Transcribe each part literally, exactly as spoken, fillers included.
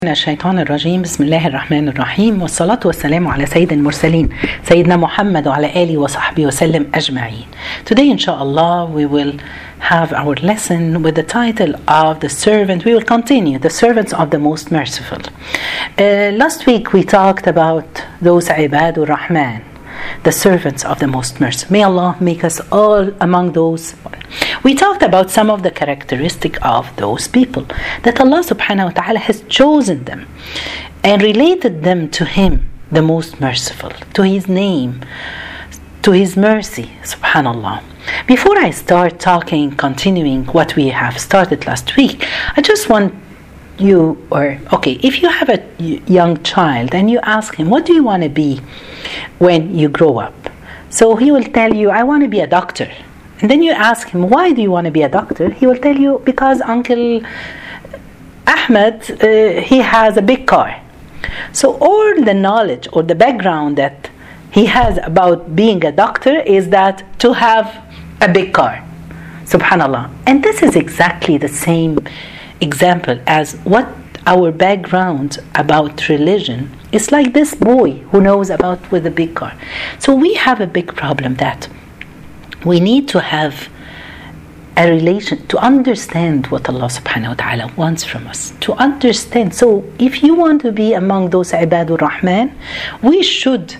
من الشيطان الرجيم. بسم الله الرحمن الرحيم، والصلاة والسلام على سيد المرسلين سيدنا محمد وعلى آله وصحبه وسلم أجمعين. Today inshallah we will have our lesson with the title of the servant. We will continue the servants of the most merciful. Uh, last week we talked about those Ibadur Rahman, the servants of the most merciful. May Allah make us all among those. We talked about some of the characteristics of those people, that Allah subhanahu wa ta'ala has chosen them and related them to Him, the most merciful, to His name, to His mercy, subhanallah. Before I start talking, continuing what we have started last week, I just want you, or okay, if you have a young child and you ask him, what do you want to be when you grow up? So he will tell you, I want to be a doctor. And then you ask him, why do you want to be a doctor? He will tell you, because Uncle Ahmed, uh, he has a big car. So all the knowledge or the background that he has about being a doctor is that to have a big car. Subhanallah. And this is exactly the same example as what our background about religion is, like this boy who knows about with a big car. So we have a big problem that we need to have a relation to understand what Allah subhanahu wa ta'ala wants from us, to understand. So if you want to be among those Ibadur Rahman, we should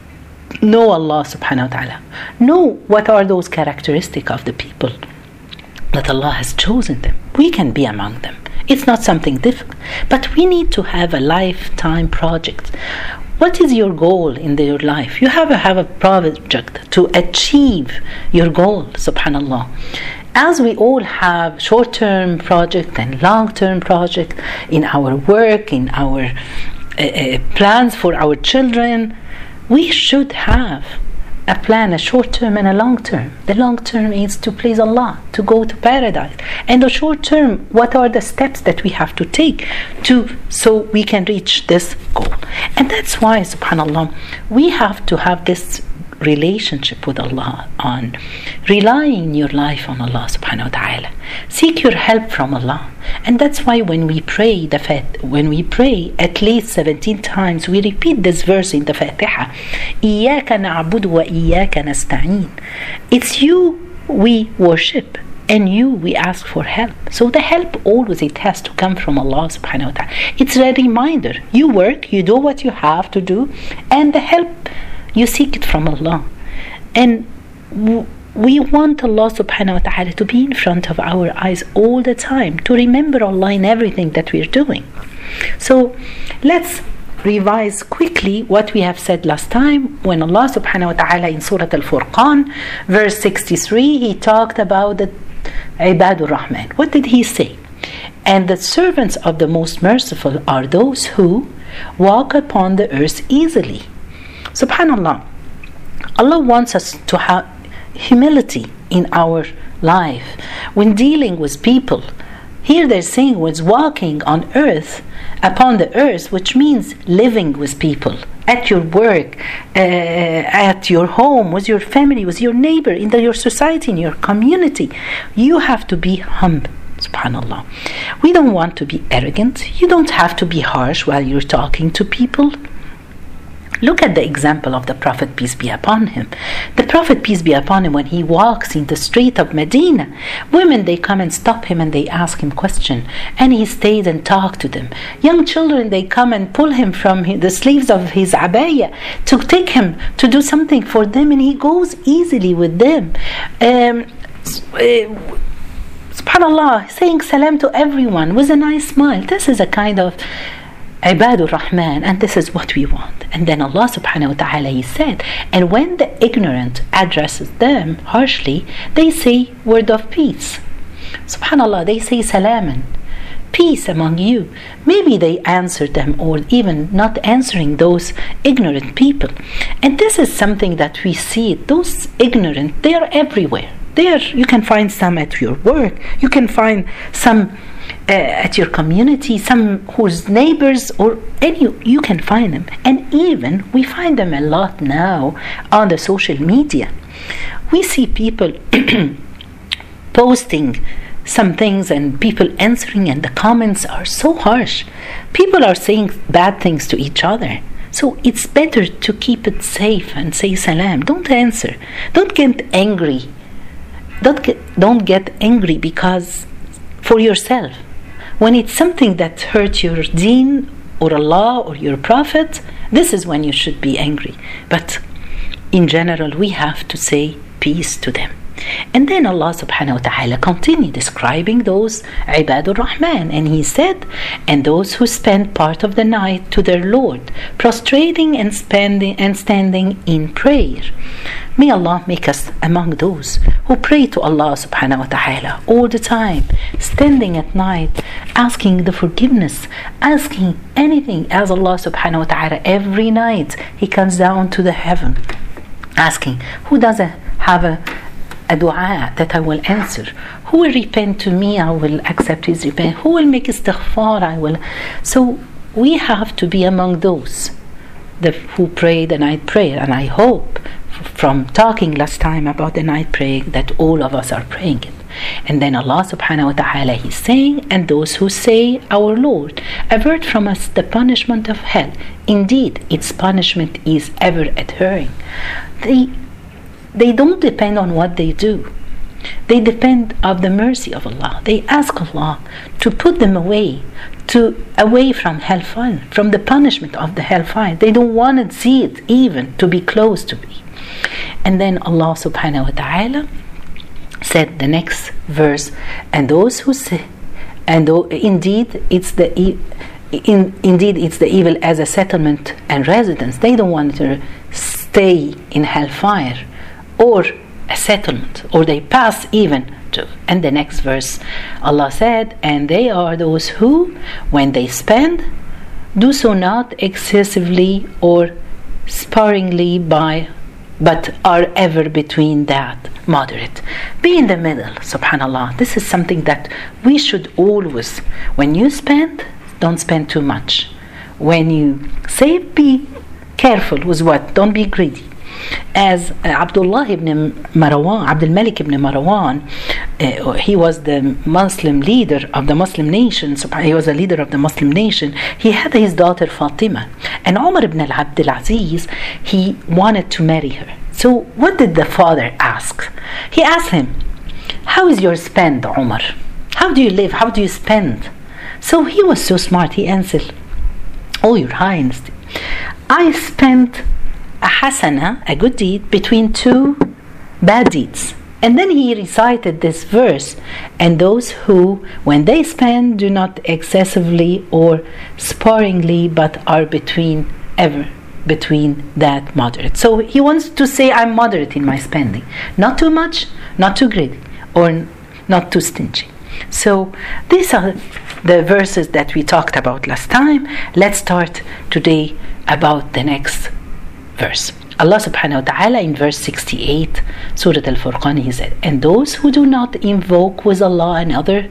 know Allah subhanahu wa ta'ala, know what are those characteristics of the people that Allah has chosen them. We can be among them. It's not something difficult, but we need to have a lifetime project. What is your goal in the, your life? You have to have a project to achieve your goal, subhanallah. As we all have short-term project and long-term project in our work, in our uh, uh, plans for our children, we should have a plan, a short term and a long term. The long term is to please Allah, to go to paradise. And the short term, what are the steps that we have to take to so we can reach this goal? And that's why, subhanallah, we have to have this relationship with Allah, on relying your life on Allah subhanahu wa ta'ala. Seek your help from Allah. And that's why when we pray the Fat, when we pray at least seventeen times, we repeat this verse in the Fatiha. إِيَّاكَ نَعْبُدُ وَإِيَّاكَ نَسْتَعِينُ. It's you we worship and you we ask for help. So the help always, it has to come from Allah subhanahu wa ta'ala. It's a reminder. You work, you do what you have to do, and the help you seek it from Allah. And w- we want Allah subhanahu wa ta'ala to be in front of our eyes all the time, to remember Allah in everything that we're doing. So let's revise quickly what we have said last time when Allah subhanahu wa ta'ala in Surah Al-Furqan verse sixty-three, He talked about the Ibadur Rahman. What did He say? And the servants of the most merciful are those who walk upon the earth easily. Subhanallah, Allah wants us to have humility in our life when dealing with people. Here they're saying was walking on earth, upon the earth, which means living with people, at your work, uh, at your home, with your family, with your neighbor, in the, your society, in your community. You have to be humble. Subhanallah. We don't want to be arrogant. You don't have to be harsh while you're talking to people. Look at the example of the Prophet, peace be upon him. The Prophet, peace be upon him, when he walks in the street of Medina, women, they come and stop him and they ask him question, and he stays and talks to them. Young children, they come and pull him from the sleeves of his abaya to take him to do something for them, and he goes easily with them. Um, uh, Subhanallah, saying salam to everyone with a nice smile. This is a kind of Ibadur Rahman, and this is what we want. And then Allah subhanahu wa ta'ala, He said, and when the ignorant addresses them harshly, they say word of peace. Subhanallah, they say salaman, peace among you. Maybe they answer them, or even not answering those ignorant people. And this is something that we see. Those ignorant, they are everywhere. There you can find some at your work, you can find some Uh, at your community, some whose neighbors, or any, you can find them. And even we find them a lot now on the social media. We see people posting some things and people answering, and the comments are so harsh. People are saying bad things to each other. So it's better to keep it safe and say salam. Don't answer. Don't get angry. Don't get, don't get angry because for yourself. When it's something that hurts your deen or Allah or your prophet, this is when you should be angry. But in general, we have to say peace to them. And then Allah subhanahu wa ta'ala continued describing those Ibadur Rahman, and He said, and those who spend part of the night to their Lord, prostrating and spending and standing in prayer. May Allah make us among those who pray to Allah subhanahu wa ta'ala all the time, standing at night, asking the forgiveness, asking anything, as Allah subhanahu wa ta'ala every night He comes down to the heaven, asking, who doesn't have a a dua that I will answer? Who will repent to me? I will accept his repent. Who will make istighfar? I will. So we have to be among those the, who pray the night prayer. And I hope from talking last time about the night prayer that all of us are praying it. And then Allah subhanahu wa ta'ala He's saying, and those who say, our Lord, avert from us the punishment of hell. Indeed, its punishment is ever adhering. They They don't depend on what they do. They depend on the mercy of Allah. They ask Allah to put them away, to away from hellfire, from the punishment of the hellfire. They don't want to see it even to be close to me. And then Allah subhanahu wa ta'ala said the next verse, and those who say, and indeed it's the in, indeed it's the evil as a settlement and residence. They don't want to stay in hellfire or a settlement, or they pass even to. And the next verse, Allah said, and they are those who, when they spend, do so not excessively or sparingly by, but are ever between that, moderate. Be in the middle, subhanallah. This is something that we should always, when you spend, don't spend too much. When you save, be careful with what, don't be greedy. As uh, Abdullah ibn Marwan, Abdul Malik ibn Marwan, uh, he was the Muslim leader of the Muslim nation. He was a leader of the Muslim nation. He had his daughter Fatima, and Umar ibn Abdul Aziz, he wanted to marry her. So what did the father ask? He asked him, how is your spend, Umar? How do you live? How do you spend? So he was so smart. He answered, oh, your highness, I spent a hasana, a good deed, between two bad deeds. And then he recited this verse, and those who, when they spend, do not excessively or sparingly, but are between, ever between that moderate. So he wants to say, I'm moderate in my spending. Not too much, not too greedy, or not too stingy. So these are the verses that we talked about last time. Let's start today about the next verse. Allah subhanahu wa ta'ala in verse sixty-eight, Surah Al-Furqan, He said, and those who do not invoke with Allah another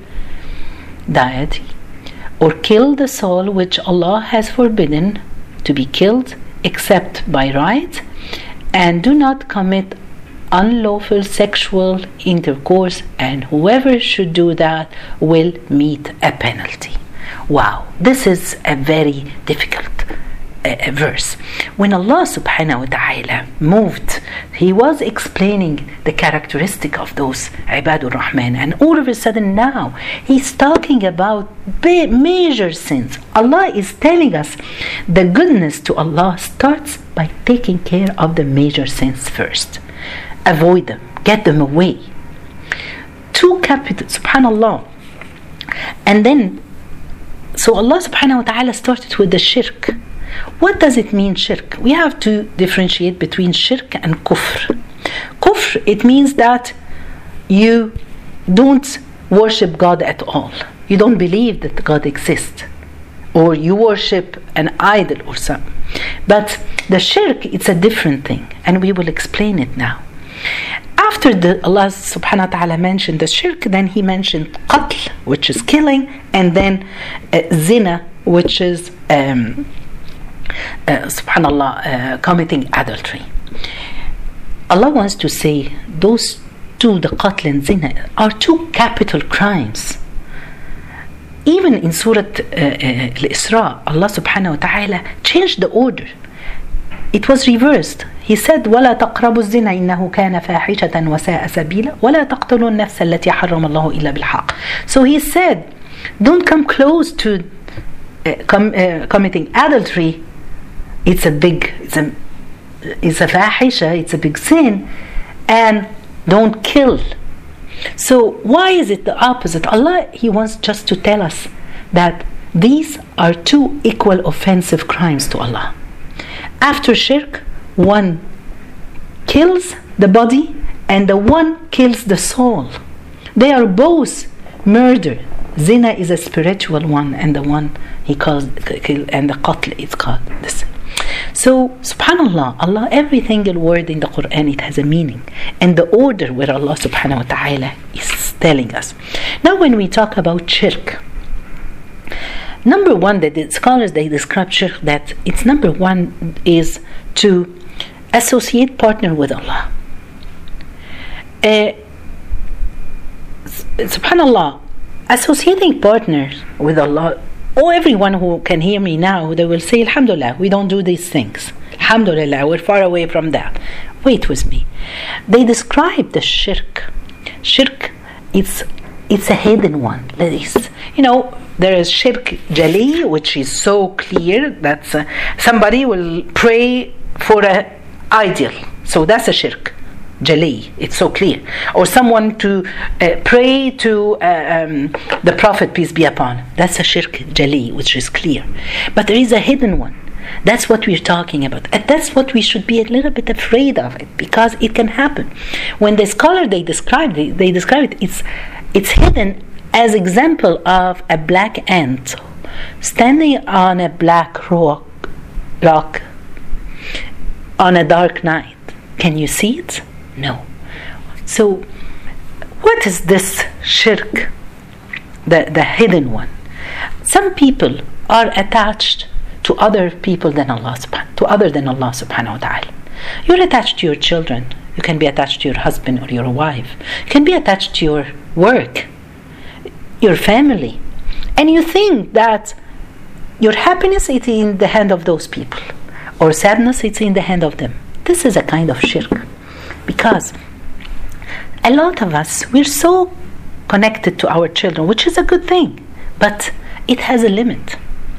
deity, or kill the soul which Allah has forbidden to be killed except by right, and do not commit unlawful sexual intercourse, and whoever should do that will meet a penalty. Wow, this is a very difficult A verse. When Allah subhanahu wa ta'ala moved, He was explaining the characteristic of those Ibadur Rahman, and all of a sudden now He's talking about major sins. Allah is telling us the goodness to Allah starts by taking care of the major sins first. Avoid them, get them away. Two capital, subhanallah. And then, so Allah subhanahu wa ta'ala started with the shirk. What does it mean, shirk? We have to differentiate between shirk and kufr. Kufr, it means that you don't worship God at all. You don't believe that God exists, or you worship an idol or something. But the shirk, it's a different thing, and we will explain it now. After the Allah subhanahu wa ta'ala mentioned the shirk, then He mentioned qatl, which is killing, and then uh, zina, which is um, Uh, subhanallah, uh, committing adultery. Allah wants to say those do the qatl and zina are two capital crimes. Even in Surah uh, uh, Al-Isra, Allah subhanahu wa ta'ala changed the order. It was reversed. He said, وَلَا تَقْرَبُوا الزِّنَا إِنَّهُ كَانَ فَاحِشَةً وَسَاءَ سَبِيلًا وَلَا تَقْتُلُوا النَّفْسَ الَّتِي حَرَّمَ اللَّهُ إِلَّا بِالْحَقِّ. So he said, don't come close to uh, com- uh, committing adultery. It's a big, it's a, it's a fahisha, it's a big sin. And don't kill. So why is it the opposite? Allah, He wants just to tell us that these are two equal offensive crimes to Allah. After shirk, one kills the body and the one kills the soul. They are both murder. Zina is a spiritual one, and the one he calls kill, and the qatl is called this. So, subhanallah, Allah, every single word in the Quran, it has a meaning. And the order where Allah subhanahu wa ta'ala is telling us. Now when we talk about shirk, number one, that the scholars, they describe shirk that its number one is to associate partner with Allah. Uh, subhanallah, associating partners with Allah, oh, everyone who can hear me now, they will say, Alhamdulillah, we don't do these things. Alhamdulillah, we're far away from that. Wait with me. They describe the shirk. Shirk, it's it's a hidden one. That is, you know, there is shirk jali, which is so clear that uh, somebody will pray for an ideal. So that's a shirk jali. It's so clear. Or someone to uh, pray to uh, um, the Prophet, peace be upon. That's a shirk jali, which is clear. But there is a hidden one. That's what we're talking about. And that's what we should be a little bit afraid of it, because it can happen. When the scholar, they describe it, they describe it, it's, it's hidden as example of a black ant standing on a black rock, rock on a dark night. Can you see it? No. So, what is this shirk? The, the hidden one. Some people are attached to other people than Allah subhanahu, to other than Allah subhanahu wa ta'ala. You're attached to your children. You can be attached to your husband or your wife. You can be attached to your work, your family. And you think that your happiness is in the hand of those people, or sadness is in the hand of them. This is a kind of shirk. Because a lot of us, we're so connected to our children, which is a good thing, but it has a limit.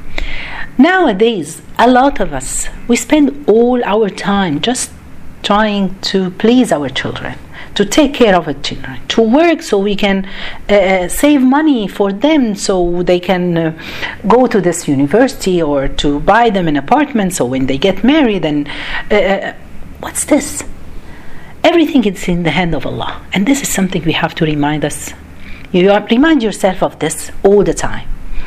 Nowadays, a lot of us, we spend all our time just trying to please our children, to take care of our children, to work so we can uh, save money for them, so they can uh, go to this university, or to buy them an apartment so when they get married. And uh, what's this? Everything is in the hand of Allah, and this is something we have to remind us. You remind yourself of this all the time.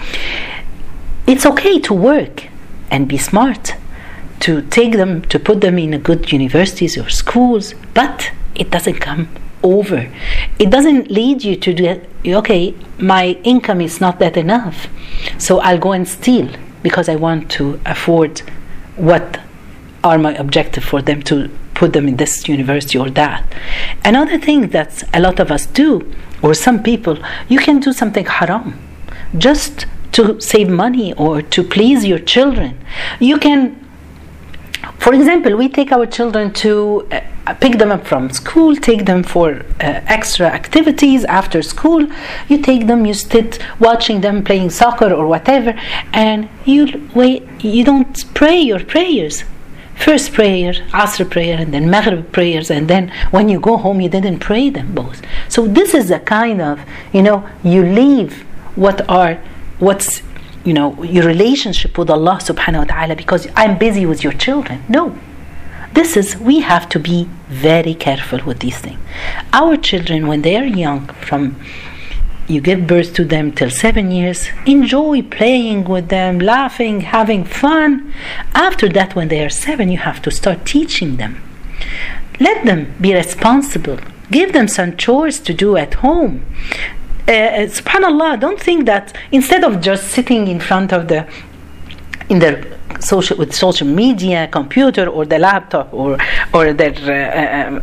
It's okay to work and be smart, to take them, to put them in a good universities or schools, but it doesn't come over. It doesn't lead you to do, okay, my income is not that enough, so I'll go and steal because I want to afford what are my objective for them, to put them in this university or that. Another thing that a lot of us do, or some people, you can do something haram just to save money or to please your children. You can, for example, we take our children to uh, pick them up from school, take them for uh, extra activities after school. You take them, you sit watching them playing soccer or whatever, and you wait. You don't pray your prayers. First prayer, Asr prayer, and then Maghrib prayers, and then when you go home, you didn't pray them both. So this is a kind of, you know, you leave what are, what's, you know, your relationship with Allah subhanahu wa ta'ala because I'm busy with your children. No. This is, we have to be very careful with these things. Our children, when they are young, from you give birth to them till seven years, enjoy playing with them, laughing, having fun. After that, when they are seven, you have to start teaching them. Let them be responsible. Give them some chores to do at home. Uh, subhanallah, don't think that instead of just sitting in front of the, in their social, with social media, computer, or the laptop, or or their uh, um,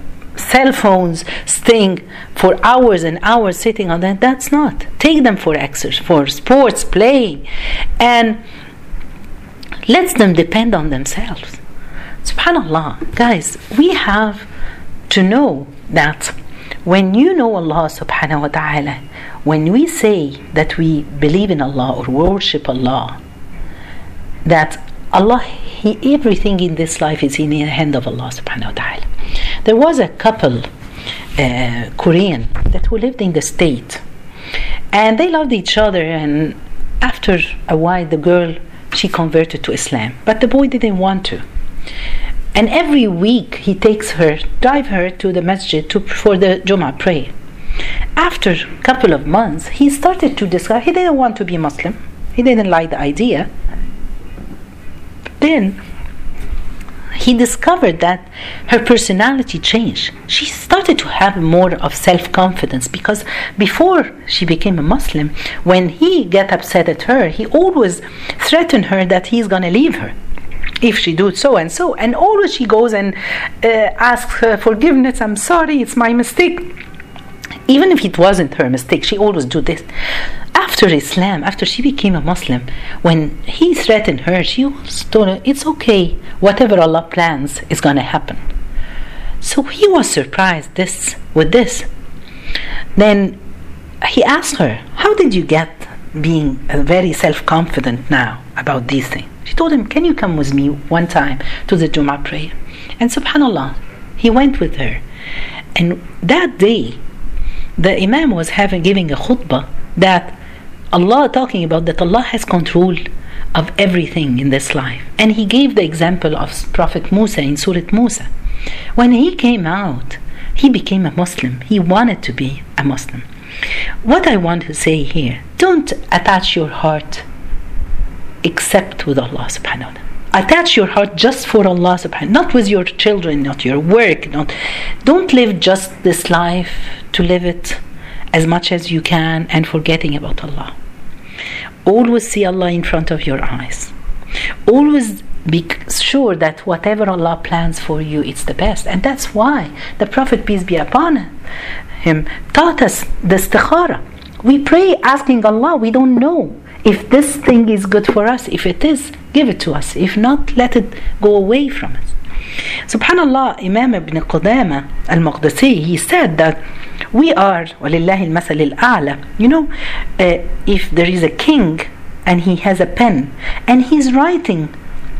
cell phones, staying for hours and hours sitting on that. That's not. Take them for exercise, for sports, playing, and let them depend on themselves. Subhanallah, guys, we have to know that when you know Allah subhanahu wa ta'ala, when we say that we believe in Allah or worship Allah, that Allah, he, everything in this life is in the hand of Allah subhanahu wa ta'ala. There was a couple, uh, Korean, that who lived in the state, and they loved each other, and after a while the girl, she converted to Islam, but the boy didn't want to. And every week he takes her, drive her to the masjid to, for the Jummah prayer. After a couple of months, he started to discover he didn't want to be Muslim. He didn't like the idea. Then he discovered that her personality changed. She started to have more of self-confidence, because before she became a Muslim, when he got upset at her, he always threatened her that he's going to leave her if she do so and so, and always she goes and uh, asks her forgiveness. I'm sorry, it's my mistake. Even if it wasn't her mistake, she always do this. After Islam, after she became a Muslim, when he threatened her, she always told her, it's okay, whatever Allah plans is going to happen. So he was surprised this with this. Then he asked her, how did you get being very self-confident now about these things? She told him, can you come with me one time to the Jummah prayer? And subhanallah, he went with her. And that day, the Imam was having giving a khutbah that Allah, talking about that Allah has control of everything in this life. And he gave the example of Prophet Musa in Surah Musa. When he came out, he became a Muslim. He wanted to be a Muslim. What I want to say here, don't attach your heart except with Allah subhanahu wa ta'ala. Attach your heart just for Allah subhanahu, not with your children, not your work. Not, don't live just this life to live it as much as you can and forgetting about Allah. Always see Allah in front of your eyes. Always be sure that whatever Allah plans for you, it's the best. And that's why the Prophet, peace be upon him, taught us the istikhara. We pray asking Allah, we don't know if this thing is good for us. If it is, give it to us. If not, let it go away from us. Subhanallah, Imam Ibn Qudama al-Maqdisi, he said that we are, وَلِلَّهِ الْمَثَلِ الْأَعْلَى, you know, uh, if there is a king and he has a pen and he's writing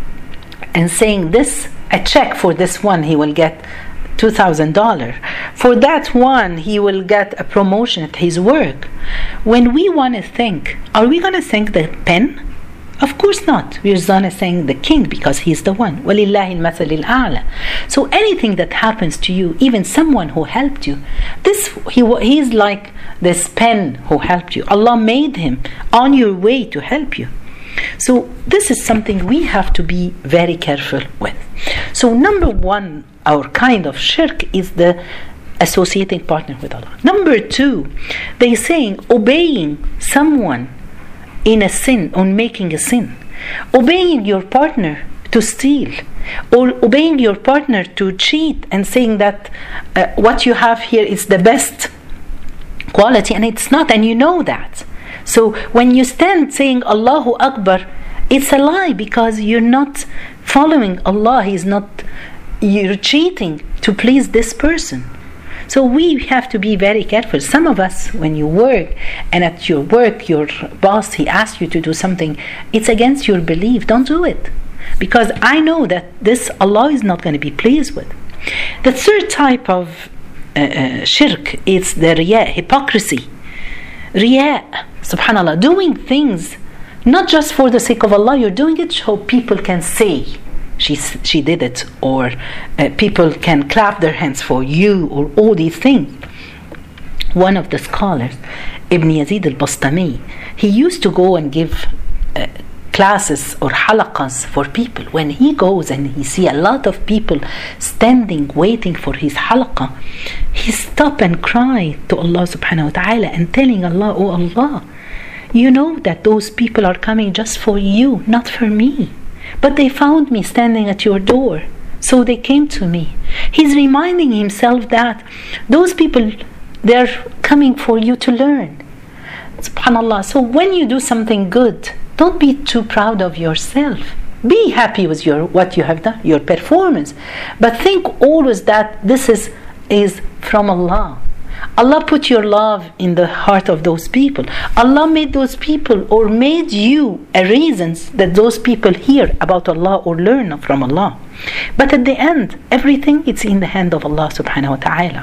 and saying this, a check for this one, he will get two thousand dollars. For that one, he will get a promotion at his work. When we want to think, are we going to thank the pen? Of course not. We're going to thank the king because he's the one. وَلِلَّهِ الْمَثَلِ الْأَعْلَى. So anything that happens to you, even someone who helped you, this he he's like this pen who helped you. Allah made him on your way to help you. So this is something we have to be very careful with. So number one, our kind of shirk is the associating partner with Allah. Number two, they saying obeying someone in a sin, on making a sin, obeying your partner to steal, or obeying your partner to cheat and saying that uh, what you have here is the best quality and it's not, and you know that. So when you stand saying Allahu Akbar, it's a lie because you're not following Allah. He's not, you're cheating to please this person. So we have to be very careful. Some of us, when you work and at your work, your boss, he asks you to do something, it's against your belief. Don't do it. Because I know that this Allah is not going to be pleased with. The third type of uh, uh, shirk is the riya, hypocrisy. Riya, subhanallah, doing things not just for the sake of Allah, you're doing it so people can say she she did it, or uh, people can clap their hands for you, or all these things. One of the scholars, Ibn Yazid al-Bastami, he used to go and give uh, classes or halaqas for people. When he goes and he see a lot of people standing waiting for his halaqa, he stop and cry to Allah subhanahu wa ta'ala and telling Allah, oh Allah, you know that those people are coming just for you, not for me. But they found me standing at your door. so they came to me. He's reminding himself that those people, they're coming for you to learn. SubhanAllah. So when you do something good, don't be too proud of yourself. Be happy with your what you have done, your performance. But think always that this is, is from Allah. Allah put your love in the heart of those people. Allah made those people, or made you a reason that those people hear about Allah or learn from Allah. But at the end, everything it's in the hand of Allah subhanahu wa ta'ala.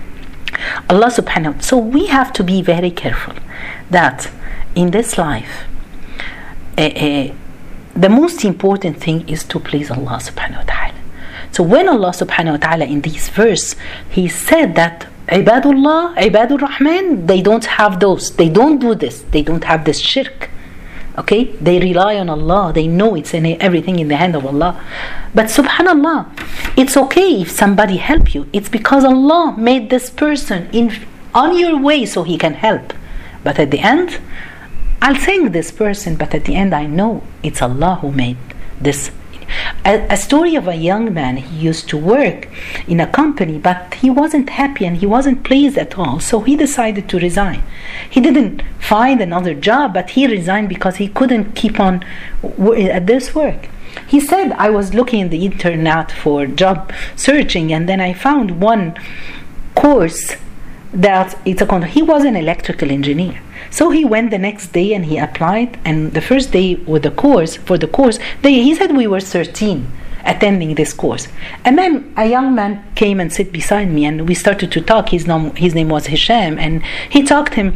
Allah subhanahu wa ta'ala. So we have to be very careful that in this life, uh, uh, the most important thing is to please Allah subhanahu wa ta'ala. So when Allah subhanahu wa ta'ala in this verse, He said that Ibadullah, Ibadur Rahman, they don't have those. They don't do this. They don't have this shirk. Okay? They rely on Allah. They know it's in everything in the hand of Allah. But subhanallah, it's okay if somebody help you. It's because Allah made this person in on your way so he can help. But at the end, I'll thank this person, but at the end I know it's Allah who made this. A, a story of a young man, he used to work in a company, but he wasn't happy and he wasn't pleased at all. So he decided to resign. He didn't find another job, but he resigned because he couldn't keep on w- at this work. He said, I was looking in the internet for job searching, and then I found one course that it's a con- he was an electrical engineer. So he went the next day and he applied, and the first day with the course for the course they, he said we were thirteen attending this course, and then a young man came and sat beside me and we started to talk. His name, his name was Hisham, and he talked him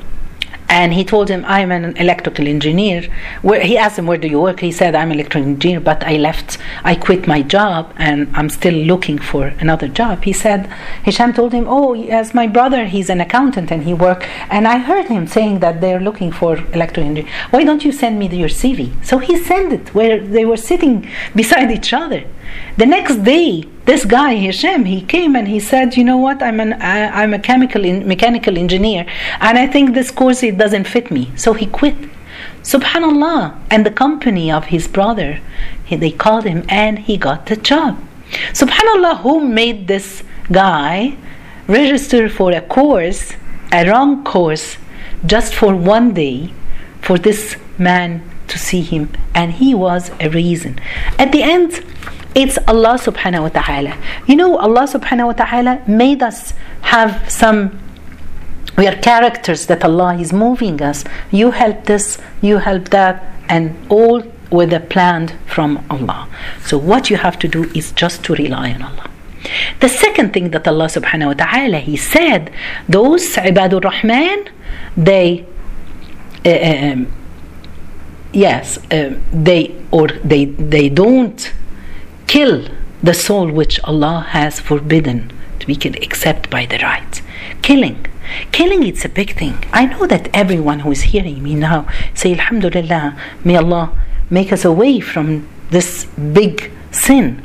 and he told him, I'm an electrical engineer. Where, he asked him, where do you work? He said, I'm an electrical engineer, but I left, I quit my job and I'm still looking for another job. He said, Hisham told him, oh, yes, my brother, he's an accountant and he worked, and I heard him saying that they're looking for electrical engineer. Why don't you send me your C V? So he sent it, where they were sitting beside each other. The next day, this guy Hisham, he came and he said, you know what, I'm an I, I'm a chemical in, mechanical engineer, and I think this course, it doesn't fit me. So he quit. Subhanallah. And the company of his brother, he, they called him and he got the job. Subhanallah, who made this guy register for a course, a wrong course, just for one day, for this man to see him, and he was a reason. At the end, it's Allah subhanahu wa ta'ala. You know, Allah subhanahu wa ta'ala made us have some, we are characters that Allah is moving us. You help this, you help that, and all with a plan from Allah. So what you have to do is just to rely on Allah. The second thing that Allah subhanahu wa ta'ala, He said, those Ibadur Rahman, they uh, um, yes, uh, they or they they don't kill the soul which Allah has forbidden to be killed except by the right. Killing. Killing, it's a big thing. I know that everyone who is hearing me now say, Alhamdulillah, may Allah make us away from this big sin.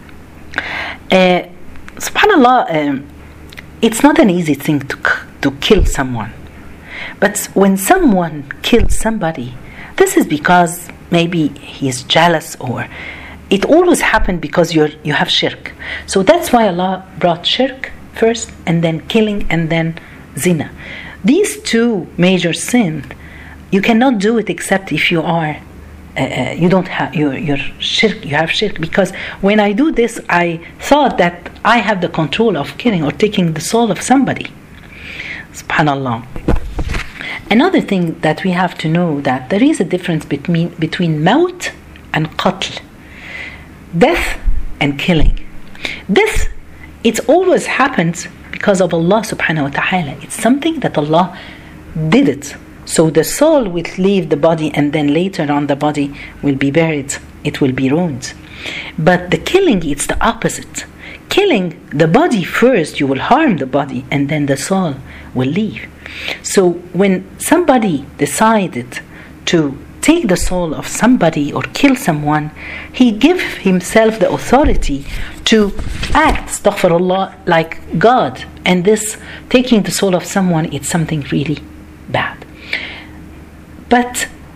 Uh, Subhanallah, um, it's not an easy thing to, to kill someone. But when someone kills somebody, this is because maybe he is jealous, or it always happened because you're you have shirk. So that's why Allah brought shirk first, and then killing, and then zina. These two major sins, you cannot do it except if you are uh, uh, you don't have your your shirk. You have shirk, because when I do this, I thought that I have the control of killing or taking the soul of somebody. Subhanallah. Another thing that we have to know, that there is a difference between between maut and qatl. Death and killing. Death, it always happens because of Allah subhanahu wa ta'ala. It's something that Allah did it. So the soul will leave the body, and then later on the body will be buried. It will be ruined. But the killing, it's the opposite. Killing the body first, you will harm the body, and then the soul will leave. So when somebody decided to take the soul of somebody or kill someone, he gave himself the authority to act, astaghfirullah, like God. And this taking the soul of someone, it's something really bad. But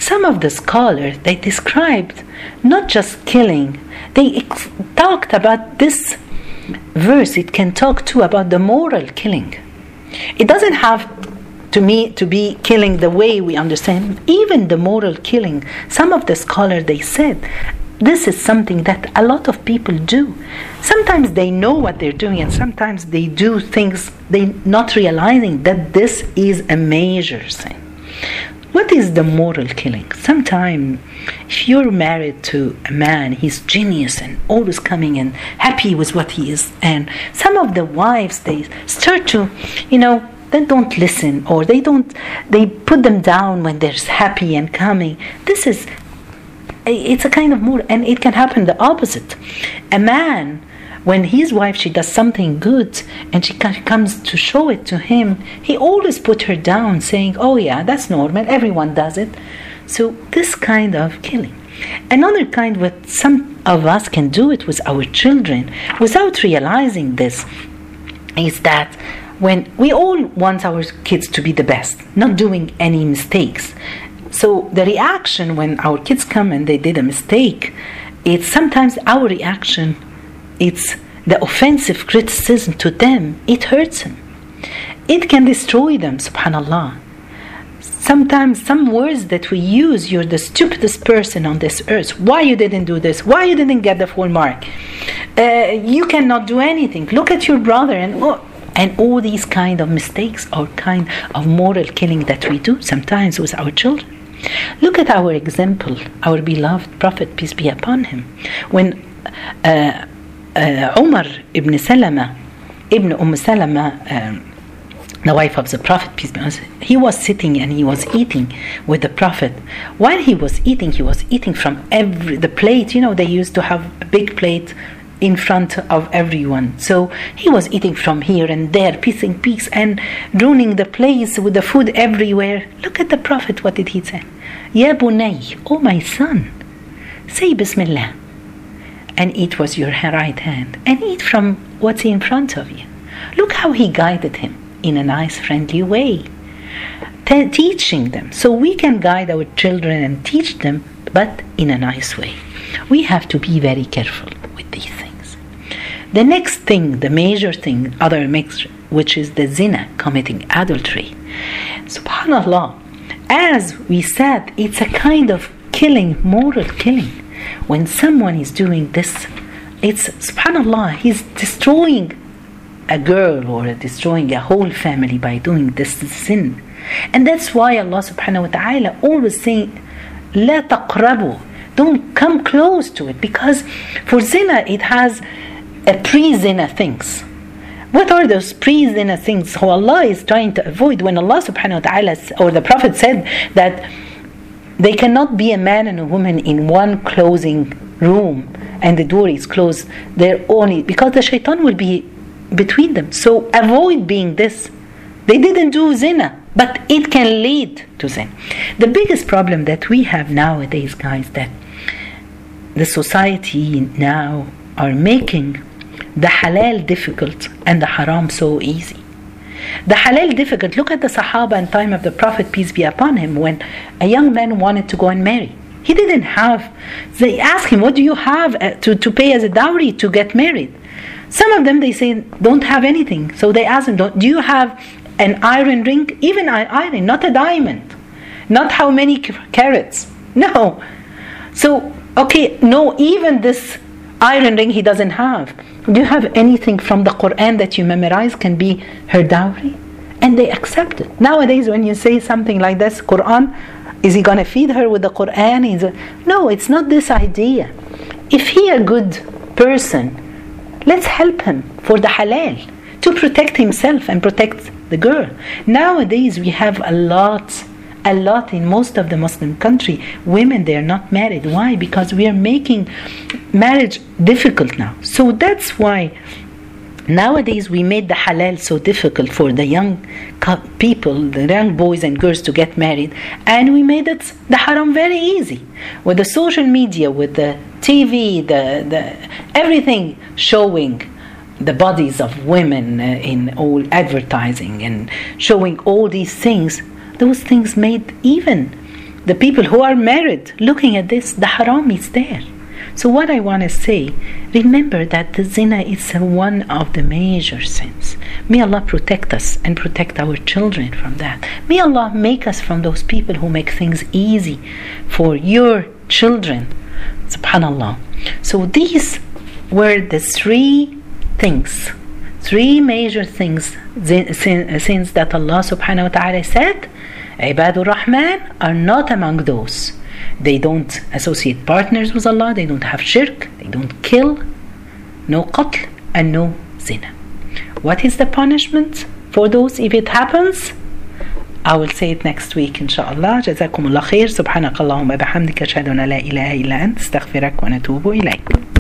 some of the scholars, they described not just killing, they ex- talked about this verse. It can talk too about the moral killing. It doesn't have to me to be killing the way we understand, even the moral killing. Some of the scholars, they said, this is something that a lot of people do. Sometimes they know what they're doing, and sometimes they do things they not realizing that this is a major sin. What is the moral killing? Sometimes if you're married to a man, he's genius and always coming and happy with what he is, and some of the wives, they start to, you know, they don't listen, or they don't, they put them down when they're happy and coming. This is, it's a kind of mood, and it can happen the opposite. A man, when his wife, she does something good and she comes to show it to him, he always put her down, saying, oh yeah, that's normal, everyone does it. So this kind of killing. Another kind, what some of us can do it with our children without realizing this, is that when we all want our kids to be the best, not doing any mistakes. So the reaction when our kids come and they did a mistake, it's sometimes our reaction, it's the offensive criticism to them, it hurts them. It can destroy them, subhanallah. Sometimes some words that we use, you're the stupidest person on this earth. Why you didn't do this? Why you didn't get the full mark? Uh, you cannot do anything. Look at your brother. And oh, and all these kind of mistakes are kind of moral killing that we do sometimes with our children. Look at our example, our beloved Prophet, peace be upon him. When uh, uh, Umar ibn Salama, ibn Umm Salama, um, the wife of the Prophet, peace be upon him, he was sitting and he was eating with the Prophet. While he was eating, he was eating from every the plate. You know, they used to have a big plate in front of everyone. So he was eating from here and there, piecing piece and ruining the place with the food everywhere. Look at the Prophet, what did he say? Ya bunay, oh my son, say Bismillah and eat with your right hand and eat from what's in front of you. Look how he guided him in a nice, friendly way, Te- teaching them. So we can guide our children and teach them, but in a nice way. We have to be very careful with these things. The next thing, the major thing, other mix, which is the zina, committing adultery. Subhanallah, as we said, it's a kind of killing, moral killing. When someone is doing this, it's, subhanallah, he's destroying a girl or destroying a whole family by doing this sin. And that's why Allah subhanahu wa ta'ala always saying, La taqrabu, don't come close to it, because for zina it has a pre-zina things. What are those pre-zina things who Allah is trying to avoid? When Allah subhanahu wa ta'ala or the Prophet said that they cannot be a man and a woman in one closing room and the door is closed, they're only because the shaitan will be between them. So avoid being this. They didn't do zina, but it can lead to zina. The biggest problem that we have nowadays, guys, that the society now are making the halal difficult and the haram so easy. The halal difficult, look at the Sahaba in time of the Prophet, peace be upon him, when a young man wanted to go and marry. He didn't have, they asked him, what do you have to, to pay as a dowry to get married? Some of them, they say, don't have anything. So they ask him, do you have an iron ring? Even an iron, not a diamond. Not how many carats. No. So, okay, no, even this iron ring he doesn't have. Do you have anything from the Quran that you memorize can be her dowry? And they accept it. Nowadays, when you say something like this, Quran, is he going to feed her with the Quran? Is it, no, it's not this idea. If he a good person, let's help him for the halal, to protect himself and protect the girl. Nowadays, we have a lot, a lot in most of the Muslim country. Women, they are not married. Why? Because we are making marriage difficult now. So that's why nowadays we made the halal so difficult for the young people, the young boys and girls to get married, and we made it the haram very easy with the social media, with the T V, the, the everything showing the bodies of women uh, in all advertising and showing all these things. Those things made even the people who are married looking at this, the haram is there. So what I want to say, remember that the zina is one of the major sins. May Allah protect us and protect our children from that. May Allah make us from those people who make things easy for your children. Subhanallah. So these were the three things, three major things, sins that Allah subhanahu wa ta'ala said, Ibadur Rahman are not among those. They don't associate partners with Allah, they don't have shirk, they don't kill, no qatl and no zina. What is the punishment for those if it happens? I will say it next week inshallah. جزاكم الله خير. سبحانك اللهم وبحمدك أشهد أن لا إله إلا أنت استغفرك ونتوب إليك.